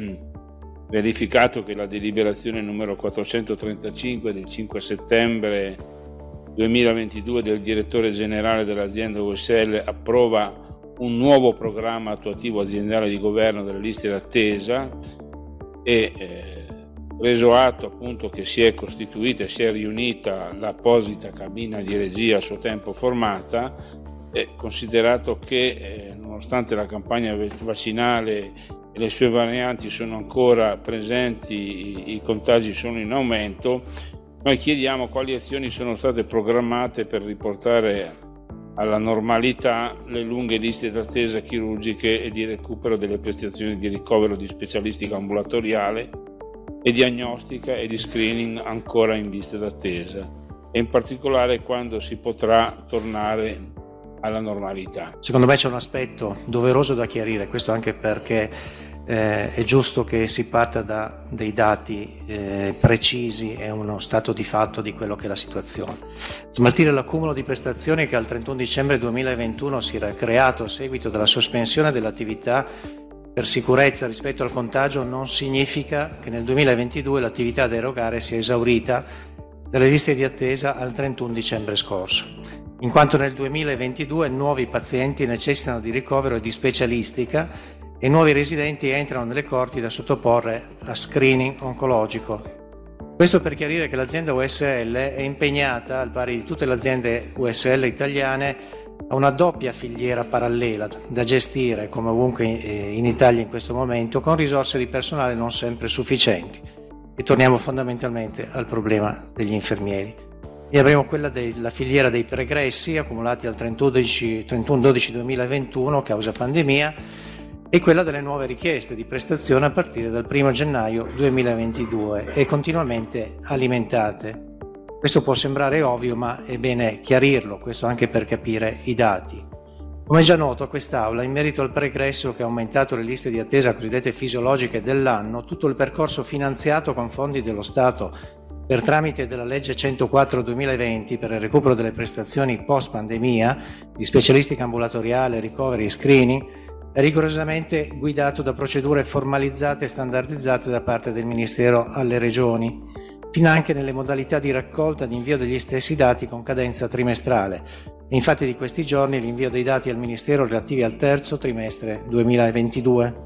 Speaker 11: verificato che la deliberazione numero quattrocentotrentacinque del cinque settembre duemilaventidue del direttore generale dell'azienda U S L approva un nuovo programma attuativo aziendale di governo delle liste d'attesa e eh, preso atto appunto che si è costituita e si è riunita l'apposita cabina di regia a suo tempo formata, e considerato che eh, nonostante la campagna vaccinale e le sue varianti sono ancora presenti, i, i contagi sono in aumento, noi chiediamo quali azioni sono state programmate per riportare alla normalità le lunghe liste d'attesa chirurgiche e di recupero delle prestazioni di ricovero di specialistica ambulatoriale e diagnostica e di screening ancora in lista d'attesa, e in particolare quando si potrà tornare alla normalità.
Speaker 12: Secondo me c'è un aspetto doveroso da chiarire, questo anche perché eh, è giusto che si parta da dei dati eh, precisi e uno stato di fatto di quello che è la situazione. Smaltire l'accumulo di prestazioni che al trentuno dicembre duemilaventuno si era creato a seguito della sospensione dell'attività per sicurezza rispetto al contagio non significa che nel duemilaventidue l'attività da erogare sia esaurita dalle liste di attesa al trentuno dicembre scorso, in quanto nel duemilaventidue nuovi pazienti necessitano di ricovero e di specialistica e nuovi residenti entrano nelle corti da sottoporre a screening oncologico. Questo per chiarire che l'azienda U S L è impegnata, al pari di tutte le aziende U S L italiane, a una doppia filiera parallela da gestire, come ovunque in Italia in questo momento, con risorse di personale non sempre sufficienti. E torniamo fondamentalmente al problema degli infermieri. E avremo quella della filiera dei pregressi accumulati al trentuno dodici duemilaventuno causa pandemia e quella delle nuove richieste di prestazione a partire dal primo gennaio duemilaventidue e continuamente alimentate. Questo può sembrare ovvio, ma è bene chiarirlo, questo anche per capire i dati. Come già noto a quest'Aula, in merito al pregresso che ha aumentato le liste di attesa cosiddette fisiologiche dell'anno, tutto il percorso finanziato con fondi dello Stato per tramite della legge centoquattro duemilaventi per il recupero delle prestazioni post-pandemia di specialistica ambulatoriale, ricoveri e screening, è rigorosamente guidato da procedure formalizzate e standardizzate da parte del Ministero alle Regioni, finanche nelle modalità di raccolta e di invio degli stessi dati con cadenza trimestrale. Infatti di questi giorni l'invio dei dati al Ministero relativi al terzo trimestre duemilaventidue.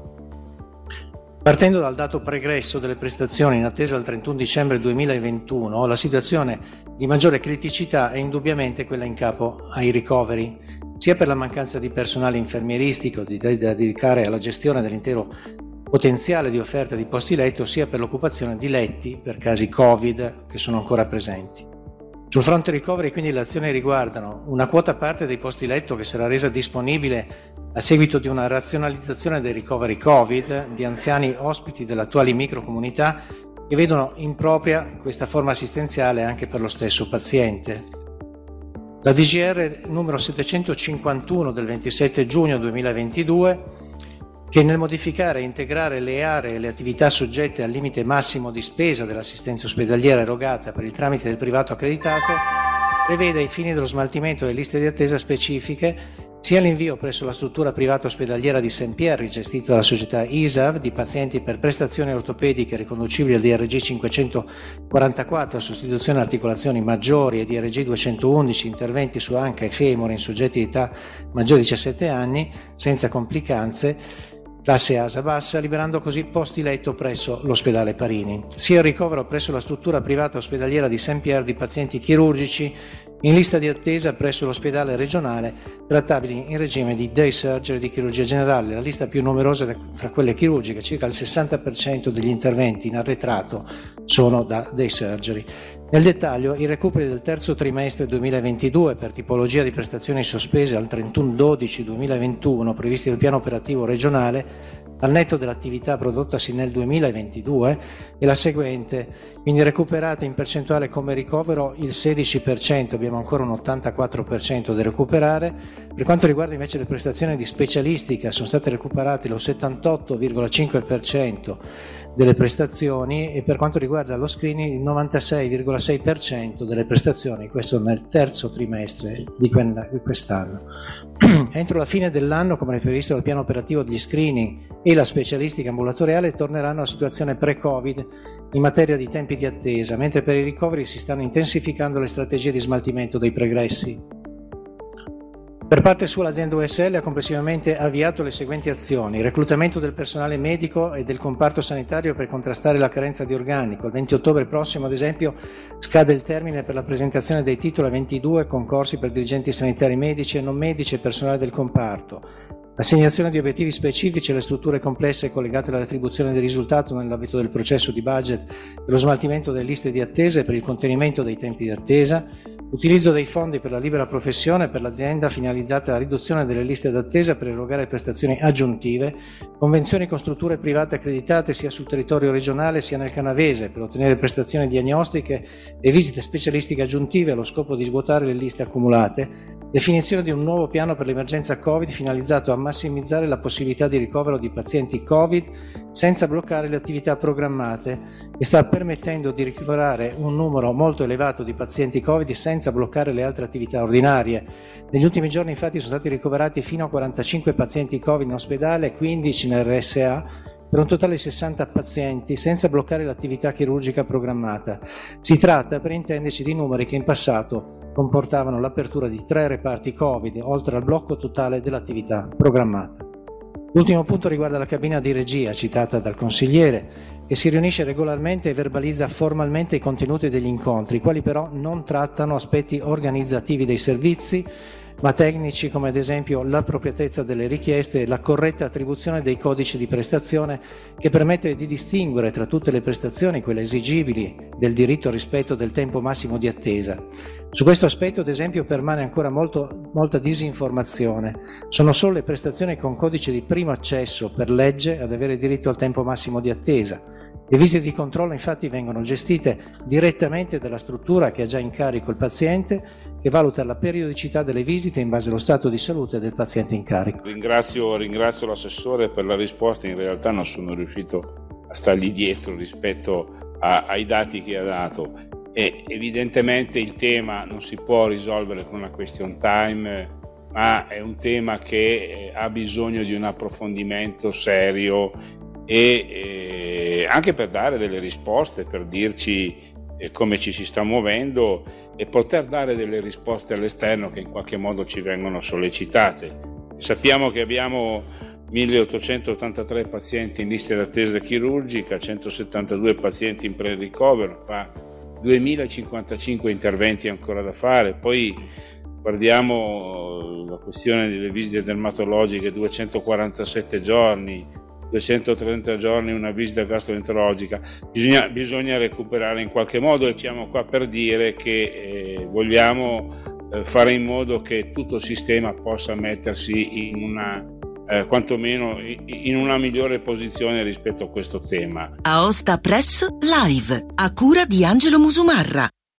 Speaker 12: Partendo dal dato pregresso delle prestazioni in attesa al trentuno dicembre duemilaventuno, la situazione di maggiore criticità è indubbiamente quella in capo ai ricoveri, sia per la mancanza di personale infermieristico da dedicare alla gestione dell'intero potenziale di offerta di posti letto, sia per l'occupazione di letti per casi Covid che sono ancora presenti. Sul fronte ricoveri quindi le azioni riguardano una quota parte dei posti letto che sarà resa disponibile a seguito di una razionalizzazione dei ricoveri Covid di anziani ospiti delle attuali microcomunità che vedono impropria questa forma assistenziale anche per lo stesso paziente. La D G R numero settecentocinquantuno del ventisette giugno duemilaventidue, che nel modificare e integrare le aree e le attività soggette al limite massimo di spesa dell'assistenza ospedaliera erogata per il tramite del privato accreditato, prevede ai fini dello smaltimento delle liste di attesa specifiche sia l'invio presso la struttura privata ospedaliera di Saint Pierre, gestita dalla società I S A V, di pazienti per prestazioni ortopediche riconducibili al D R G cinquecentoquarantaquattro, sostituzione e articolazioni maggiori, e D R G duecentoundici, interventi su anca e femore in soggetti di età maggiore di diciassette anni, senza complicanze, classe A S A bassa, liberando così posti letto presso l'ospedale Parini, sia il ricovero presso la struttura privata ospedaliera di Saint Pierre di pazienti chirurgici in lista di attesa presso l'ospedale regionale trattabili in regime di day surgery di chirurgia generale, la lista più numerosa fra quelle chirurgiche, circa il sessanta per cento degli interventi in arretrato sono da day surgery. Nel dettaglio, i recuperi del terzo trimestre duemilaventidue per tipologia di prestazioni sospese al trentuno dicembre duemilaventuno previsti dal piano operativo regionale al netto dell'attività prodottasi nel duemilaventidue è la seguente, quindi recuperate in percentuale come ricovero il sedici per cento, abbiamo ancora un ottantaquattro per cento da recuperare. Per quanto riguarda invece le prestazioni di specialistica sono state recuperate lo settantotto virgola cinque per cento delle prestazioni e per quanto riguarda lo screening il novantasei virgola sei per cento delle prestazioni, questo nel terzo trimestre di quest'anno. Entro la fine dell'anno, come riferito dal piano operativo degli screening e la specialistica ambulatoriale, torneranno alla situazione pre-Covid in materia di tempi di attesa, mentre per i ricoveri si stanno intensificando le strategie di smaltimento dei pregressi. Per parte sua l'azienda U S L ha complessivamente avviato le seguenti azioni: reclutamento del personale medico e del comparto sanitario per contrastare la carenza di organico. Il venti ottobre prossimo, ad esempio, scade il termine per la presentazione dei titoli a ventidue concorsi per dirigenti sanitari medici e non medici e personale del comparto. L'assegnazione di obiettivi specifici alle strutture complesse collegate alla retribuzione del risultato nell'ambito del processo di budget per lo smaltimento delle liste di attesa e per il contenimento dei tempi di attesa, utilizzo dei fondi per la libera professione per l'azienda finalizzate alla riduzione delle liste d'attesa per erogare prestazioni aggiuntive, convenzioni con strutture private accreditate sia sul territorio regionale sia nel canavese per ottenere prestazioni diagnostiche e visite specialistiche aggiuntive allo scopo di svuotare le liste accumulate, definizione di un nuovo piano per l'emergenza Covid finalizzato a massimizzare la possibilità di ricovero di pazienti Covid senza bloccare le attività programmate e sta permettendo di ricoverare un numero molto elevato di pazienti Covid senza bloccare le altre attività ordinarie. Negli ultimi giorni infatti sono stati ricoverati fino a quarantacinque pazienti Covid in ospedale, quindici in R S A, per un totale di sessanta pazienti, senza bloccare l'attività chirurgica programmata. Si tratta, per intenderci, di numeri che in passato comportavano l'apertura di tre reparti Covid, oltre al blocco totale dell'attività programmata. L'ultimo punto riguarda la cabina di regia citata dal consigliere, che si riunisce regolarmente e verbalizza formalmente i contenuti degli incontri, i quali però non trattano aspetti organizzativi dei servizi, ma tecnici come ad esempio l'appropriatezza delle richieste e la corretta attribuzione dei codici di prestazione che permette di distinguere tra tutte le prestazioni quelle esigibili del diritto al rispetto del tempo massimo di attesa. Su questo aspetto, ad esempio, permane ancora molto, molta disinformazione. Sono solo le prestazioni con codice di primo accesso per legge ad avere diritto al tempo massimo di attesa. Le visite di controllo infatti vengono gestite direttamente dalla struttura che ha già in carico il paziente, che valuta la periodicità delle visite in base allo stato di salute del paziente in carico.
Speaker 11: Ringrazio, ringrazio l'assessore per la risposta, in realtà non sono riuscito a stargli dietro rispetto a, ai dati che ha dato. E evidentemente il tema non si può risolvere con una question time, ma è un tema che ha bisogno di un approfondimento serio e eh, anche per dare delle risposte, per dirci eh, come ci si sta muovendo e poter dare delle risposte all'esterno che in qualche modo ci vengono sollecitate. Sappiamo che abbiamo milleottocentottantatré pazienti in lista d'attesa chirurgica, centosettantadue pazienti in pre-ricovero, fa duemilacinquantacinque interventi ancora da fare. Poi guardiamo la questione delle visite dermatologiche, duecentoquarantasette giorni, duecentotrenta giorni una visita gastroenterologica. Bisogna, bisogna recuperare in qualche modo e siamo qua per dire che eh, vogliamo eh, fare in modo che tutto il sistema possa mettersi in una eh, quantomeno in una migliore posizione rispetto a questo tema.
Speaker 1: Aosta Press Live, a cura di Angelo Musumarra.